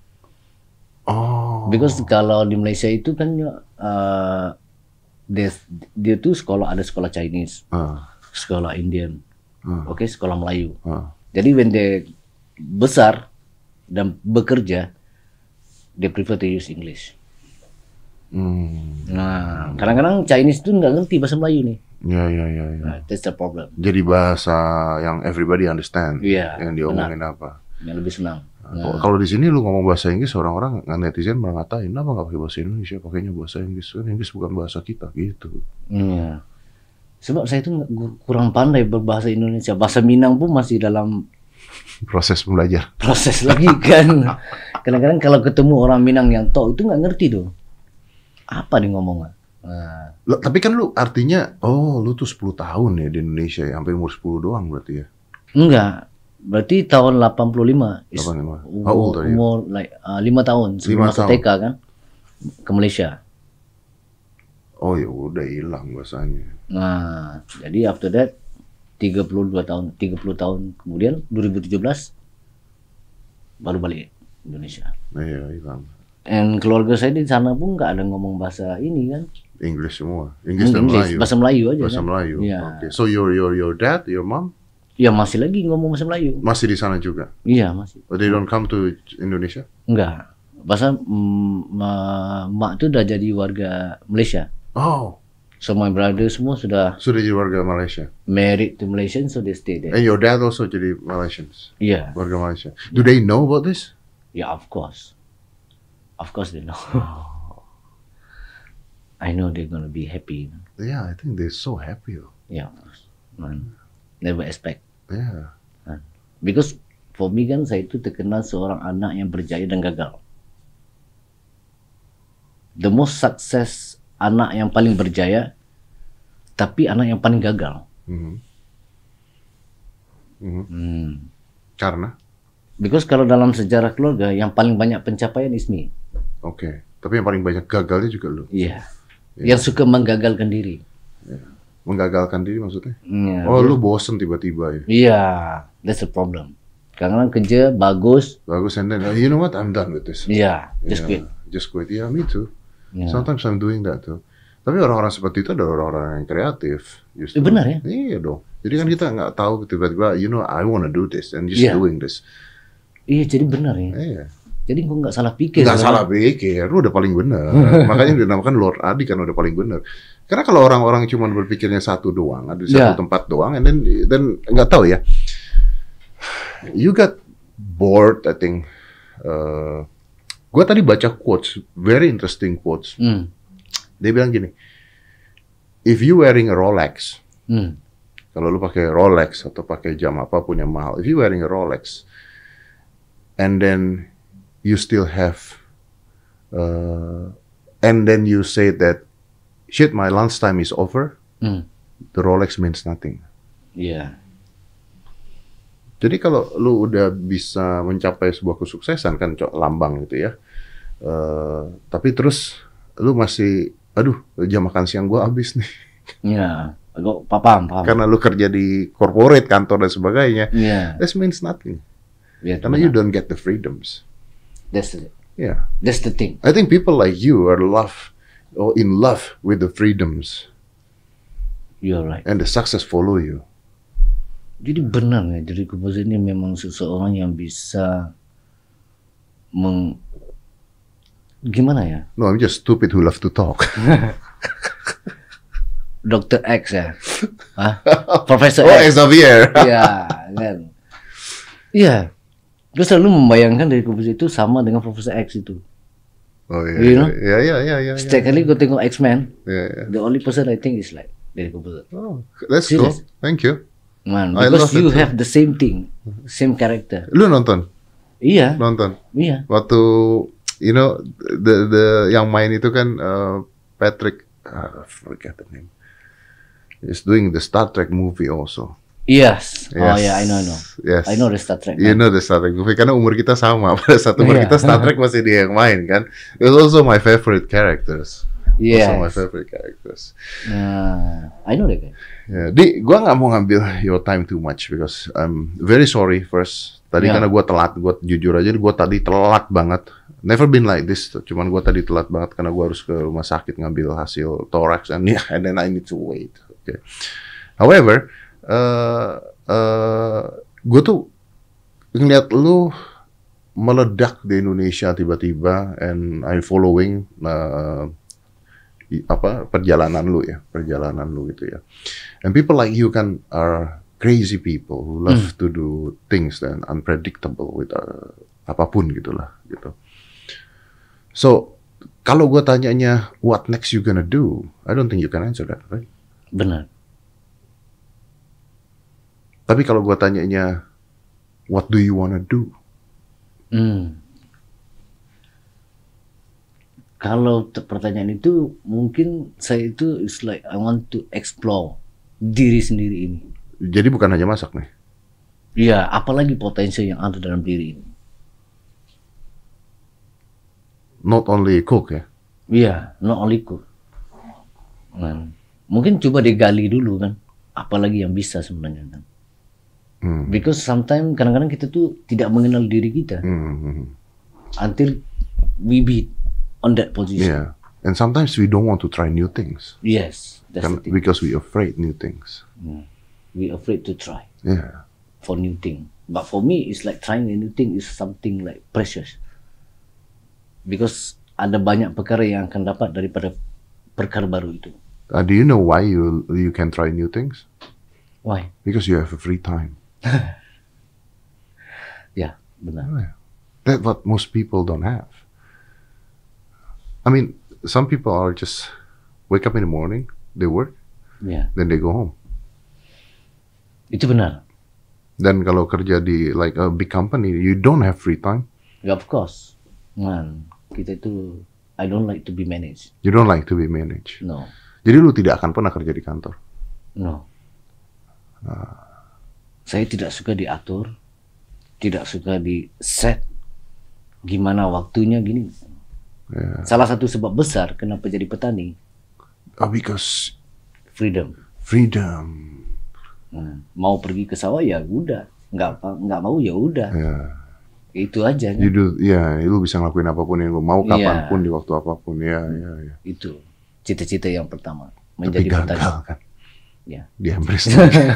Oh. Because kalau di Malaysia itu kan uh, dia, dia tuh sekolah ada sekolah Chinese, uh. sekolah Indian, uh. oke, okay, sekolah Melayu. Uh. Jadi when dia besar dan bekerja, dia prefer to use English. Hmm. Nah, kadang-kadang Chinese tuh nggak ngerti bahasa Melayu nih. Ya, ya, ya, ya. Nah, that's the problem. Jadi bahasa yang everybody understand, yeah, yang diomongin benar. Apa? Yang lebih senang. Nah. Kalau di sini lu ngomong bahasa Inggris, orang-orang netizen malah ngatain, kenapa nggak pakai bahasa Indonesia, pakainya bahasa Inggris, kan Inggris bukan bahasa kita, gitu. Iya. Sebab saya itu kurang pandai berbahasa Indonesia. Bahasa Minang pun masih dalam proses belajar. Proses lagi kan. Kadang-kadang kalau ketemu orang Minang yang tahu itu nggak ngerti tuh. Apa dia ngomong? Nah. Loh, tapi kan lu artinya, oh lu tuh sepuluh tahun ya di Indonesia ya, sampai umur sepuluh doang berarti ya? Enggak. Berarti tahun delapan puluh lima. delapan puluh lima. How old are you? Umur like uh, lima tahun sebelum masuk T K kan ke Malaysia. Oh ya udah hilang bahasanya. Nah, jadi after that tiga puluh dua tahun, tiga puluh tahun kemudian dua ribu tujuh belas baru balik Indonesia. Iya, hilang. Dan keluarga saya di sana pun nggak ada ngomong bahasa ini kan. English semua. English dan English, Melayu. Bahasa Melayu aja. Bahasa kan? Melayu. Ya. Okay. So your your your dad, your mom? Ya masih lagi ngomong bahasa Melayu. Masih di sana juga? Iya, masih. But they don't come to Indonesia? Enggak. Bahasa mm, mak tuh udah jadi warga Malaysia. Oh. So my brother semua sudah sudah jadi warga Malaysia. Married to Malaysian, so they stay there. And your dad also jadi Malaysians. Iya. Warga Malaysia. Do yeah. they know about this? Yeah, of course. Of course they know. I know they're gonna be happy. Yeah, I think they're so happy. Yeah, man. Never expect. Yeah. Man. Because for me kan saya itu terkenal seorang anak yang berjaya dan gagal. The most success anak yang paling berjaya, tapi anak yang paling gagal. Mm-hmm. Mm-hmm. Hmm. Karena? Because kalau dalam sejarah keluarga yang paling banyak pencapaian is me. Oke, okay. Tapi yang paling banyak gagalnya juga lu. Iya. Yeah. Yeah. Yang suka menggagalkan diri. Yeah. Menggagalkan diri maksudnya? Yeah, oh, yeah. Lu bosen tiba-tiba ya? Iya, yeah, that's the problem. Kadang-kadang kerja bagus. Bagus, and then, uh, you know what, I'm done with this. Yeah, just Yeah, quit. Just quit. Yeah, me too. Yeah. Sometimes I'm doing that too. Tapi orang-orang seperti itu adalah orang-orang yang kreatif. Justru. Eh, benar ya? Iya dong. Jadi kan kita nggak tahu tiba-tiba, you know, I wanna do this and just Yeah. doing this. Iya, jadi benar ya. Iya. Jadi gue nggak salah pikir. Nggak kan? salah pikir, lu udah paling benar. Makanya dinamakan Lord Adi kan udah paling benar. Karena kalau orang-orang cuma berpikirnya satu doang, ada di satu Yeah. tempat doang, and then dan nggak tahu ya. You got bored, I think. Uh, gue tadi baca quotes, very interesting quotes. Hmm. Dia bilang gini, if you wearing a Rolex, Hmm. kalau lu pakai Rolex atau pakai jam apapun yang mahal, if you wearing a Rolex, and then you still have, uh, and then you say that, shit, my lunchtime is over, Hmm. the Rolex means nothing. Iya. Jadi kalau lu udah bisa mencapai sebuah kesuksesan kan cok, lambang gitu ya, uh, tapi terus lu masih, aduh jam makan siang gua habis nih, Iya. Gue paham, paham. karena lu kerja di corporate kantor dan sebagainya, Iya. this means nothing. Iya, Karena you don't get the freedoms. That's the, Yeah, that's the thing. I think people like you are love or in love with the freedoms, You're right. and the success follow you. Jadi benar ya, jadi komposer ini memang seseorang yang bisa meng gimana ya? No, I'm just stupid who love to talk. dokter X ya, Hah? Profesor Oh, X. Xavier. Iya, kan? Iya. Gue selalu membayangkan dari komposer itu sama dengan Profesor X itu. Oh iya, You know? iya, iya, iya, iya. Setiap kali gue tengok X-Men, Iya, iya. the only person I think is like dari komposer. Oh, that's cool. Serious? Thank you. Man, I because love you it too. have the same thing, same character. Lu nonton? Iya, Nonton. iya. Waktu, you know, the the yang main itu kan uh, Patrick, uh, I forget the name. He's doing the Star Trek movie also. Yes. Oh Yes. yeah, I know, I know. Yes. I know the Star Trek. You man. know the Star Trek movie karena umur kita sama. Pada saat umur Iya. kita Star Trek masih dia yang main kan. It's also my favorite characters. Yes. Also my favorite characters. Nah, I know that guy. Ya, Di, gua nggak mau ngambil your time too much because I'm very sorry first. Tadi Yeah. karena gua telat, gua jujur aja, gua tadi telat banget. Never been like this. Cuman gua tadi telat banget karena gua harus ke rumah sakit ngambil hasil thorax and yeah, and then I need to wait. Okay. However, uh, uh, gue tuh ngeliat lu meledak di Indonesia tiba-tiba, and I following uh, i- apa perjalanan lu ya, perjalanan lu gitu ya. And people like you kan are crazy people who love to do things that unpredictable with uh, apapun gitulah gitu. So kalau gue tanyanya what next you gonna do, I don't think you can answer that, right? Benar. Tapi kalau gue tanyanya, what do you wanna do? Hmm. Kalau te- pertanyaan itu mungkin saya itu is like I want to explore diri sendiri ini. Jadi bukan hanya masak nih. Iya, apalagi potensi yang ada dalam diri ini. Not only cook ya. Iya, not only cook. Kan. Mungkin coba digali dulu kan, apalagi yang bisa sebenarnya kan. Hmm. Because sometimes kadang-kadang kita tuh tidak mengenal diri kita Hmm. until we be on that position. Yeah. And sometimes we don't want to try new things. Yes, that's Kan, the thing. because we afraid new things. We afraid to try Yeah. for new thing. But for me, it's like trying a new thing is something like precious. Because ada banyak perkara yang akan dapat daripada perkara baru itu. Uh, do you know why you you can try new things? Why? Because you have a free time. Ya, benar. That's what most people don't have. I mean, some people are just wake up in the morning, they work, Ya, then they go home. itu benar. Dan kalau kerja di like a big company, you don't have free time. Ya, of course. Man, kita itu I don't like to be managed. You don't like to be managed. No, Jadi lu tidak akan pernah kerja di kantor. no. Saya tidak suka diatur, tidak suka di set gimana waktunya gini. Yeah. Salah satu sebab besar kenapa jadi petani, Oh, because freedom. freedom. Hmm. Mau pergi ke sawah ya udah, nggak nggak mau ya udah. Yeah. Itu aja kan? You do, ya, yeah, lu bisa ngelakuin apapun yang lu mau, kapanpun, yeah. di waktu apapun, ya, ya, ya. Itu cita-cita yang pertama. Menjadi Tapi gagal petani. kan? Ya. Di Empress.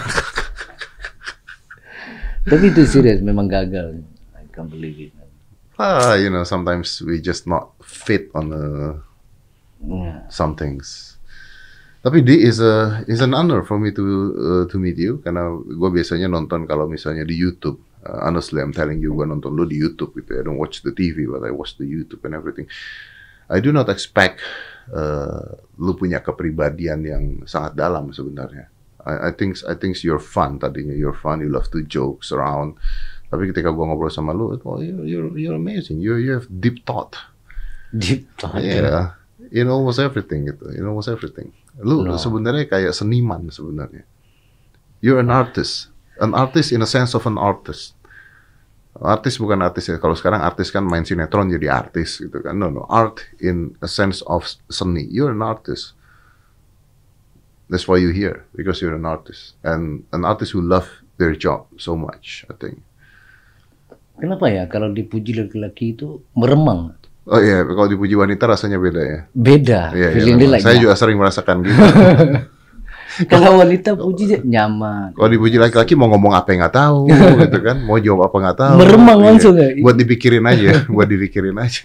Tapi itu serius, memang gagal. I can't believe it. Ah, you know, sometimes we just not fit on uh, yeah. some things. Tapi D is a is an honor for me to uh, to meet you, karena gue biasanya nonton kalau misalnya di YouTube. Uh, honestly, I'm telling you, gue nonton lu di YouTube gitu. I don't watch the T V, but I watch the YouTube and everything. I do not expect uh, lu punya kepribadian yang sangat dalam sebenarnya. I, I think I think you're fun tadinya, you're fun, you love to jokes around. Tapi ketika gue ngobrol sama lu, oh, you're you're you're amazing, you you have deep thought. Deep thought. Yeah, in almost everything gitu, in almost everything. Lu no. sebenarnya kayak seniman sebenarnya. You're an artist. An artist in a sense of an artist. Artis bukan artis ya. Kalau sekarang artis kan main sinetron jadi artis gitu kan. No, no. Art in a sense of seni. You're an artist. That's why you're here. Because you're an artist. And an artist who love their job so much, I think. Kenapa ya kalau dipuji laki-laki itu meremang? Oh iya, kalau dipuji wanita rasanya beda ya? Beda. Yeah, feeling yeah, like saya that. juga sering merasakan gitu. Kalau wanita puji nyaman. Kalau dipuji laki-laki mau ngomong apa yang nggak tahu, gitu kan? Mau jawab apa nggak tahu. Meremang iya. langsung ya. Buat dipikirin aja, buat dipikirin aja.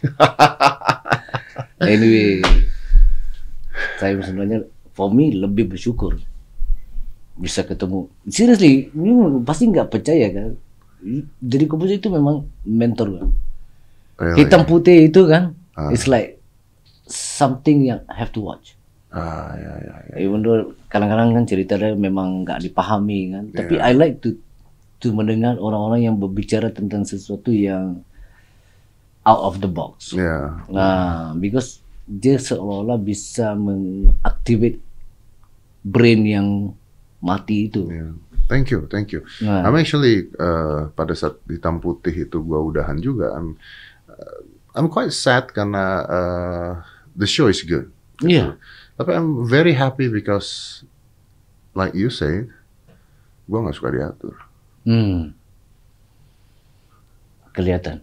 Anyway, saya sebenarnya, for me lebih bersyukur bisa ketemu. Seriously, ini pasti nggak percaya kan? Jadi komposer itu memang mentor kan. Really? Hitam putih itu kan, ah. It's like something yang have to watch. Ah, ya, ya, ya. Even though kadang-kadang kan ceritanya memang nggak dipahami kan, yeah. Tapi I like to to mendengar orang-orang yang berbicara tentang sesuatu yang out of the box. Yeah. Nah, because dia seolah-olah bisa mengaktifkan brain yang mati itu. Yeah. Thank you, thank you. Nah. I'm actually uh, pada saat Hitam Putih itu gua udahan juga. I'm uh, I'm quite sad karena uh, the show is good. Iya. Yeah. Tapi I'm very happy because, like you say, gue nggak suka diatur. Hmm. Kelihatan.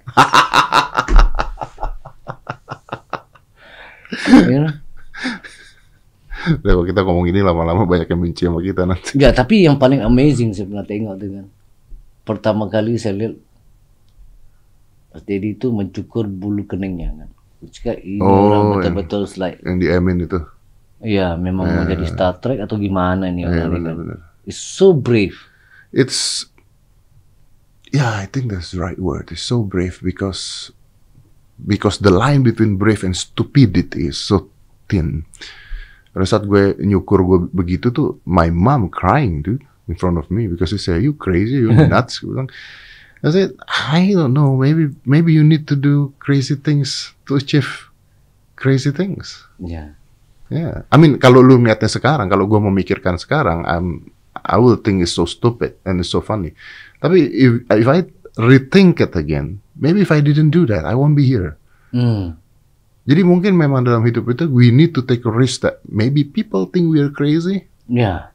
Ya. Kalau kita ngomong ini lama-lama banyak yang benci sama kita nanti. Enggak, tapi yang paling amazing saya pernah tengok dengan pertama kali saya lihat Mas Deddy itu mencukur bulu keningnya kan. Jika ini oh, orang betul-betul slide. Yang di Emin itu. Iya, memang yeah. Menjadi Star Trek atau gimana ini yeah, orang bener, kan. bener. It's so brave. It's, yeah, I think that's the right word. It's so brave because because the line between brave and stupidity is so thin. Pada saat gue nyukur gue begitu tuh, my mom crying dude in front of me because she said, "You crazy, you nuts." Gue bilang, I said, I don't know, maybe maybe you need to do crazy things to achieve crazy things. Yeah. Yeah, I mean kalau lu lihatnya sekarang, kalau gue memikirkan sekarang, I'm, I will think it's so stupid and it's so funny. Tapi if if I rethink it again, maybe if I didn't do that, I won't be here. Mm. Jadi mungkin memang dalam hidup itu we need to take a risk that maybe people think we are crazy. Yeah.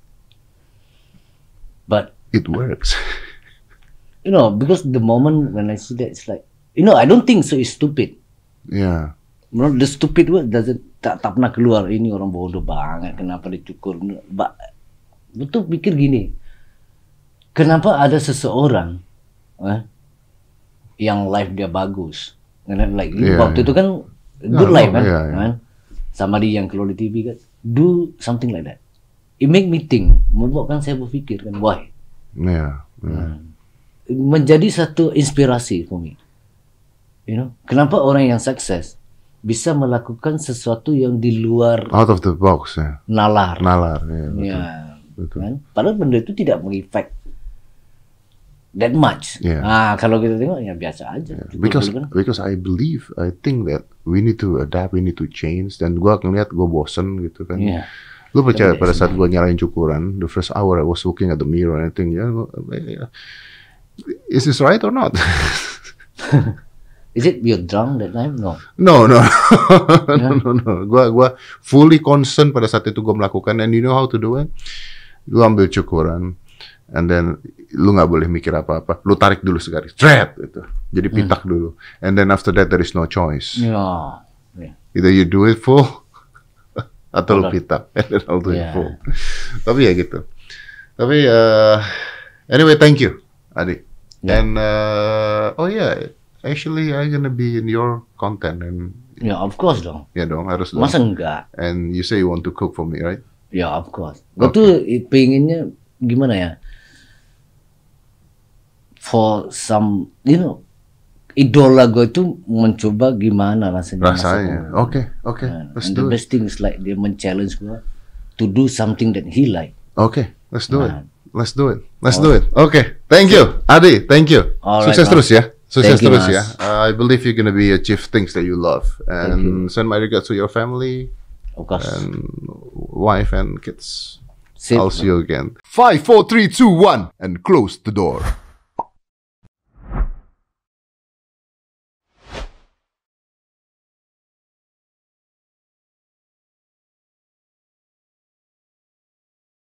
But it works. You know, because the moment when I see that, it's like, you know, I don't think so. It's stupid. Yeah. You know, the stupid word doesn't tak, tak pernah keluar. Ini orang bodoh banget. Kenapa dicukur? Ba, betul pikir gini. Kenapa ada seseorang eh, yang life dia bagus? Like yeah, waktu yeah. itu kan good no, life no, kan, yeah, yeah. kan? Sama dia yang keluar di T V kan. Do something like that. It make me think. Membuatkan saya berpikir kan, why? Yeah. yeah. Hmm. Menjadi satu inspirasi for me. You know, kenapa orang yang sukses bisa melakukan sesuatu yang di luar out of the box ya. Nalar. Nalar, ya. Betul. Ya, betul. Kan? Padahal benda itu tidak mengefek that much. Yeah. Nah, kalau kita tengok ya biasa aja. Yeah. Because kan? because I believe, I think that we need to adapt, we need to change. Dan gua ngeliat gua bosen gitu kan. Yeah. Lu percaya pada saat gua nyalain cukuran, the first hour I was looking at the mirror and I think, ya, yeah, is this right or not? Is it you're drunk that time? No. No, no, no, no, no. Gua, gua fully concern pada saat itu gua melakukan. And you know how to do it? Lu ambil cukuran, And then lu nggak boleh mikir apa-apa, lu tarik dulu sekali, thread itu, jadi pitak hmm. dulu. And then after that there is no choice. Yeah. Yeah. Either you do it full atau lu pitak, and then I'll do yeah. it full. Tapi ya gitu. Tapi uh, anyway, thank you, Adi. Yeah. And uh, oh yeah, actually I'm gonna be in your content and. Ya, yeah, of course dong. Ya yeah, dong, harus dong. Masa enggak? And you say you want to cook for me, right? Ya, yeah, of course. Gue okay. tuh pengennya gimana ya? For some, you know, idola gue itu mencoba gimana rasanya. Rasanya, oke, oke. And the best thing is like dia men-challenge gue to do something that he like. Oke, okay, let's do nah. it. Let's do it. Let's oh. do it. Oke, okay. Thank you, Adi. Thank you. All Sukses right, terus ya. Sukses terus ya. Uh, I believe you're gonna be achieve things that you love. And send my regards to your family. Of course. And wife and kids. Sit, I'll see you again. Five, four, three, two, one, and close the door.